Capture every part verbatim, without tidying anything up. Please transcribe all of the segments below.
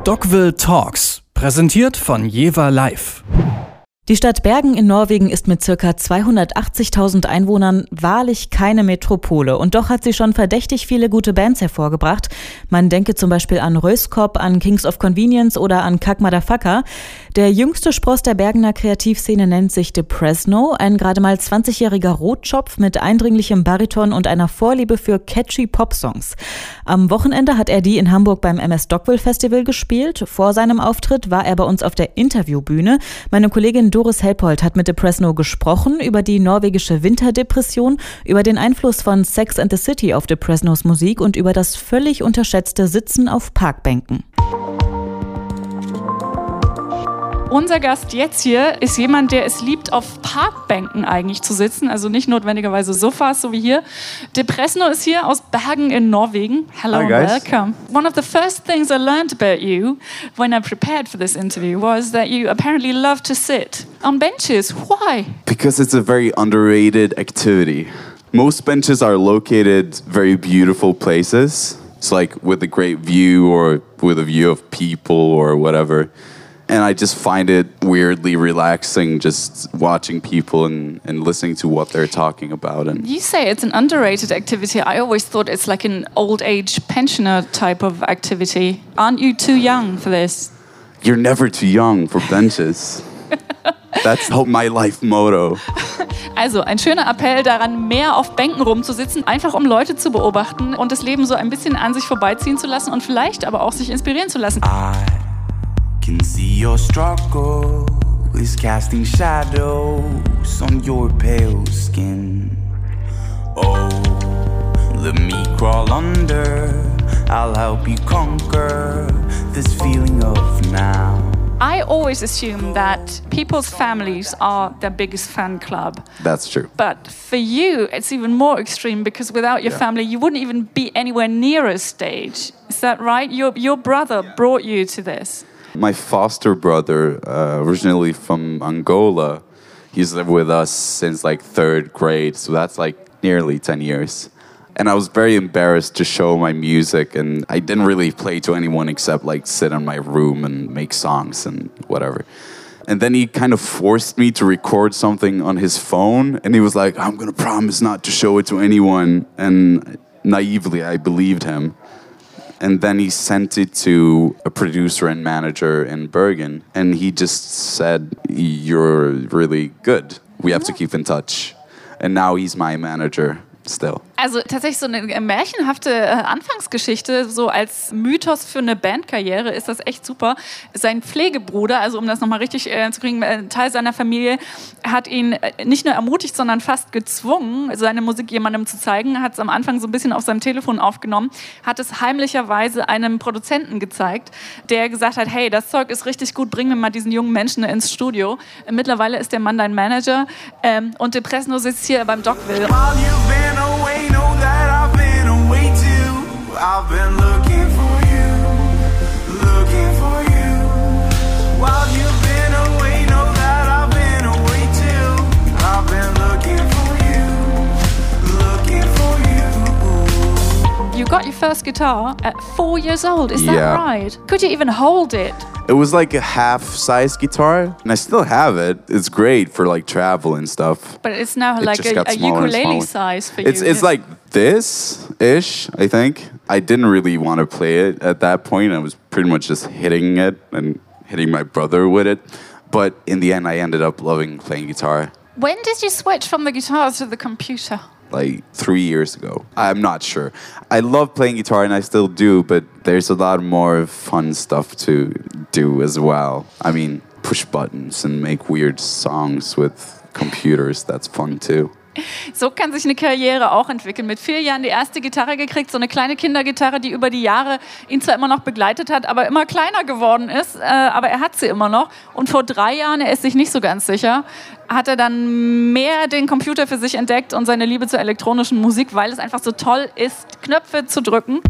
Dogville Talks, präsentiert von Jever Live. Die Stadt Bergen in Norwegen ist mit ca. zweihundertachtzigtausend Einwohnern wahrlich keine Metropole. Und doch hat sie schon verdächtig viele gute Bands hervorgebracht. Man denke zum Beispiel an Röskop, an Kings of Convenience oder an Kack Motherfucker. Der jüngste Spross der Bergener Kreativszene nennt sich Depresno, ein gerade mal zwanzigjähriger Rotschopf mit eindringlichem Bariton und einer Vorliebe für catchy Popsongs. Am Wochenende hat er die in Hamburg beim M S Dogville Festival gespielt. Vor seinem Auftritt war er bei uns auf der Interviewbühne. Meine Kollegin Doris Helpold hat mit Depresno gesprochen über die norwegische Winterdepression, über den Einfluss von Sex and the City auf Depresnos Musik und über das völlig unterschätzte Sitzen auf Parkbänken. Unser Gast jetzt hier ist jemand, der es liebt, auf Parkbänken eigentlich zu sitzen, also nicht notwendigerweise Sofas, so wie hier. Depresno ist hier aus Bergen in Norwegen. Hello and welcome. One of the first things I learned about you when I prepared for this interview was that you apparently love to sit on benches. Why? Because it's a very underrated activity. Most benches are located very beautiful places. It's like with a great view or with a view of people or whatever. And I just find it weirdly relaxing just watching people and, and listening to what they're talking about. And you say it's an underrated activity. I always thought it's like an old age pensioner type of activity. Aren't you too young for this? You're never too young for benches. That's my life motto. Also ein schöner Appell daran, mehr auf Bänken rumzusitzen, einfach um Leute zu beobachten und das Leben so ein bisschen an sich vorbeiziehen zu lassen und vielleicht aber auch sich inspirieren zu lassen. I can see your struggle is casting shadows on your pale skin. Oh, let me crawl under, I'll help you conquer this feeling of now. I always assume that people's families are their biggest fan club. That's true. But for you, it's even more extreme because without your yeah. family, you wouldn't even be anywhere near a stage. Is that right? Your, your brother brought you to this. My foster brother, uh, originally from Angola, he's lived with us since like third grade, so that's like nearly ten years. And I was very embarrassed to show my music, and I didn't really play to anyone except like sit in my room and make songs and whatever. And then he kind of forced me to record something on his phone, and he was like, I'm gonna promise not to show it to anyone. And naively, I believed him. And then he sent it to a producer and manager in Bergen. And he just said, you're really good. We have to keep in touch. And now he's my manager still. Also tatsächlich so eine märchenhafte Anfangsgeschichte, so als Mythos für eine Bandkarriere ist das echt super. Sein Pflegebruder, also um das nochmal richtig äh, zu kriegen, ein Teil seiner Familie, hat ihn nicht nur ermutigt, sondern fast gezwungen, seine Musik jemandem zu zeigen, hat es am Anfang so ein bisschen auf seinem Telefon aufgenommen, hat es heimlicherweise einem Produzenten gezeigt, der gesagt hat, hey, das Zeug ist richtig gut, bring mir mal diesen jungen Menschen ins Studio. Mittlerweile ist der Mann dein Manager ähm, und Depresno sitzt hier beim Dogville. I've been looking for you, looking for you. While you've been away, know that I've been away too. I've been looking for you, looking for you. You got your first guitar at four years old, is that yeah. right? Could you even hold it? It was like a half-size guitar, and I still have it. It's great for like travel and stuff. But it's now it like a, a ukulele size for it's, you. It's like this-ish, I think. I didn't really want to play it at that point. I was pretty much just hitting it and hitting my brother with it. But in the end, I ended up loving playing guitar. When did you switch from the guitar to the computer? Like three years ago. I'm not sure. I love playing guitar and I still do, but there's a lot more fun stuff to do as well. I mean, push buttons and make weird songs with computers. That's fun too. So kann sich eine Karriere auch entwickeln. Mit vier Jahren die erste Gitarre gekriegt, so eine kleine Kindergitarre, die über die Jahre ihn zwar immer noch begleitet hat, aber immer kleiner geworden ist, äh, aber er hat sie immer noch. Und vor drei Jahren, er ist sich nicht so ganz sicher, hat er dann mehr den Computer für sich entdeckt und seine Liebe zur elektronischen Musik, weil es einfach so toll ist, Knöpfe zu drücken.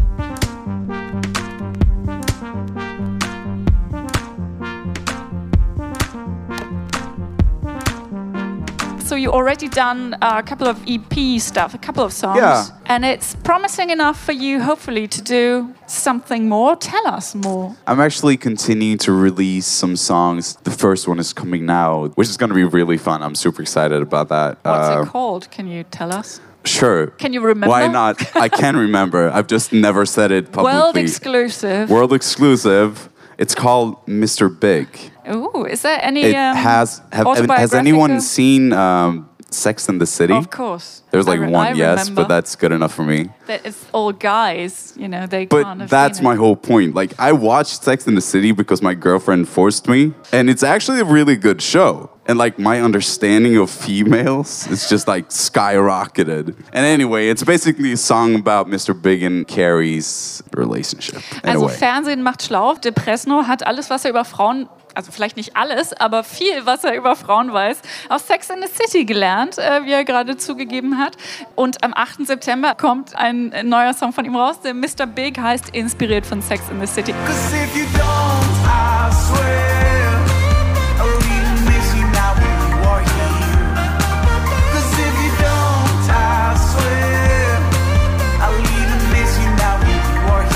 you already done a couple of E P stuff, a couple of songs. Yeah. And it's promising enough for you, hopefully, to do something more. Tell us more. I'm actually continuing to release some songs. The first one is coming now, which is going to be really fun. I'm super excited about that. What's Uh, it called? Can you tell us? Sure. Can you remember? Why not? I can remember. I've just never said it publicly. World exclusive. World exclusive. It's called Mister Big. Ooh, is there any It um, has. Have, has anyone autobiographical- seen um, Sex and the City? Of course. There's like I re- one I yes, remember but that's good enough for me. that it's all guys, you know, they But can't have that's seen my it. whole point. Like, I watched Sex and the City because my girlfriend forced me, and it's actually a really good show. And like my understanding of females is just like skyrocketed. And anyway, it's basically a song about Mister Big and Carrie's relationship. In Also a way. Fernsehen macht schlau. De Presno hat alles, was er über Frauen, also vielleicht nicht alles, aber viel, was er über Frauen weiß, aus Sex and the City gelernt, äh, wie er gerade zugegeben hat. Und am achten September kommt ein neuer Song von ihm raus, der Mister Big heißt, inspiriert von Sex and the City. 'Cause if you don't, I swear I'll even miss you now when you are here. 'Cause if you don't, I swear I'll even miss you now when you are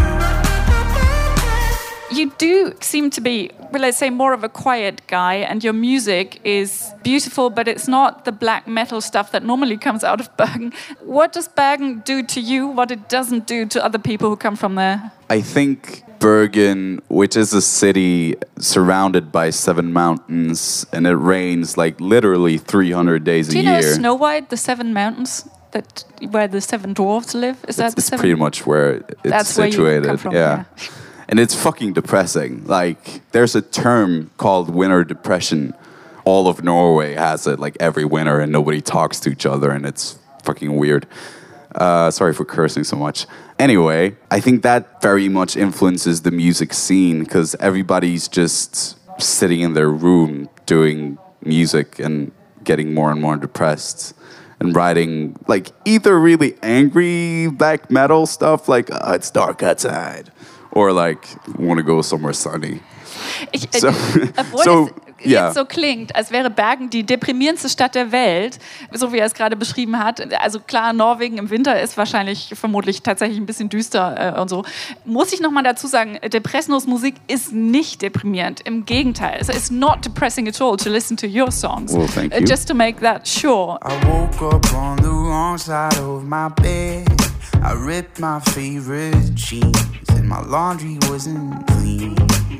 here. You do seem to be, well, let's say, more of a quiet guy, and your music is beautiful, but it's not the black metal stuff that normally comes out of Bergen. What does Bergen do to you, what it doesn't do to other people who come from there? I think Bergen, which is a city surrounded by seven mountains, and it rains like literally three hundred days Do a you know year. Snow White, the seven mountains that where the seven dwarves live? Is that It's, the it's seven? pretty much where it's That's where you situated. come from, yeah. And it's fucking depressing. Like, there's a term called winter depression. All of Norway has it, like every winter, and nobody talks to each other, and it's fucking weird. Uh, sorry for cursing so much. Anyway, I think that very much influences the music scene because everybody's just sitting in their room doing music and getting more and more depressed and writing like either really angry black metal stuff like oh, it's dark outside or like want to go somewhere sunny. Ich, äh, So- obwohl so, es ja. jetzt so klingt, als wäre Bergen die deprimierendste Stadt der Welt, so wie er es gerade beschrieben hat. Also klar, Norwegen im Winter ist wahrscheinlich vermutlich tatsächlich ein bisschen düster äh, und so. Muss ich nochmal dazu sagen, De Presnos Musik ist nicht deprimierend. Im Gegenteil. Es ist not depressing at all to listen to your songs. Well, thank Uh, you. Just to make that sure. I woke up on the wrong side of my bed. I ripped my favorite jeans and my laundry wasn't clean.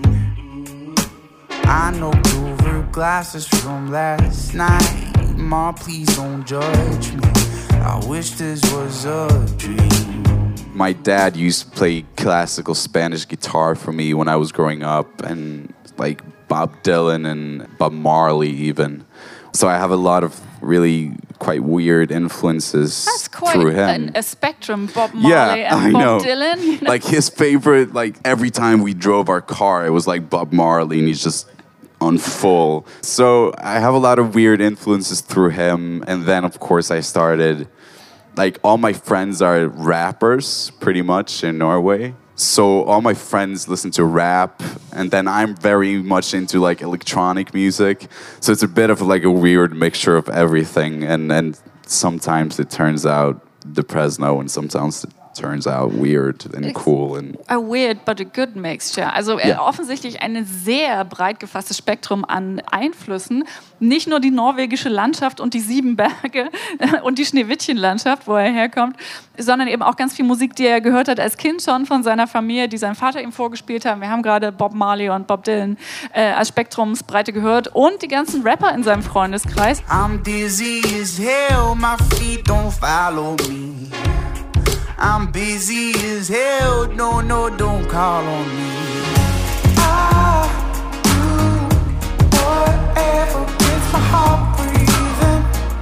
I knocked over glasses from last night. Ma, please don't judge me. I wish this was a dream. My dad used to play classical Spanish guitar for me when I was growing up, and like Bob Dylan and Bob Marley even. So I have a lot of really quite weird influences That's quite through him. an, a spectrum. Bob Marley yeah, and I Bob know. Dylan. You know? Like his favorite, like every time we drove our car, it was like Bob Marley, and he's just on full. So I have a lot of weird influences through him, and then of course I started. Like all my friends are rappers, pretty much in Norway. So all my friends listen to rap, and then I'm very much into like electronic music. So it's a bit of like a weird mixture of everything, and and sometimes it turns out Depresno, and sometimes it turns out weird and cool and A weird but a good mixture. Also äh, Ja. offensichtlich ein sehr breit gefasstes Spektrum an Einflüssen. Nicht nur die norwegische Landschaft und die sieben Berge und die Schneewittchenlandschaft, wo er herkommt, sondern eben auch ganz viel Musik, die er gehört hat als Kind schon von seiner Familie, die sein Vater ihm vorgespielt hat. Wir haben gerade Bob Marley und Bob Dylan äh, als Spektrumsbreite gehört und die ganzen Rapper in seinem Freundeskreis. I'm dizzy as hell, my feet don't follow me. I'm busy as hell, no, no, don't call on me. I do whatever gets my heart breathing.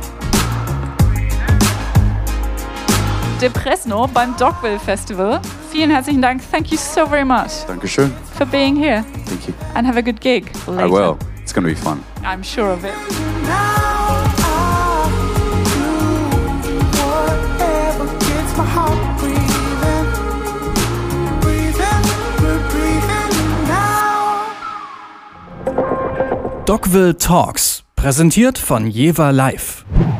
Depresno beim Dogville Festival. Vielen herzlichen Dank. Thank you so very much Dankeschön. for being here. Thank you. And have a good gig later. I will. It's gonna be fun. I'm sure of it. Now I do whatever gets my heart breathing. Breathing, we're breathing now. Dogville Talks. Präsentiert von Jever Live.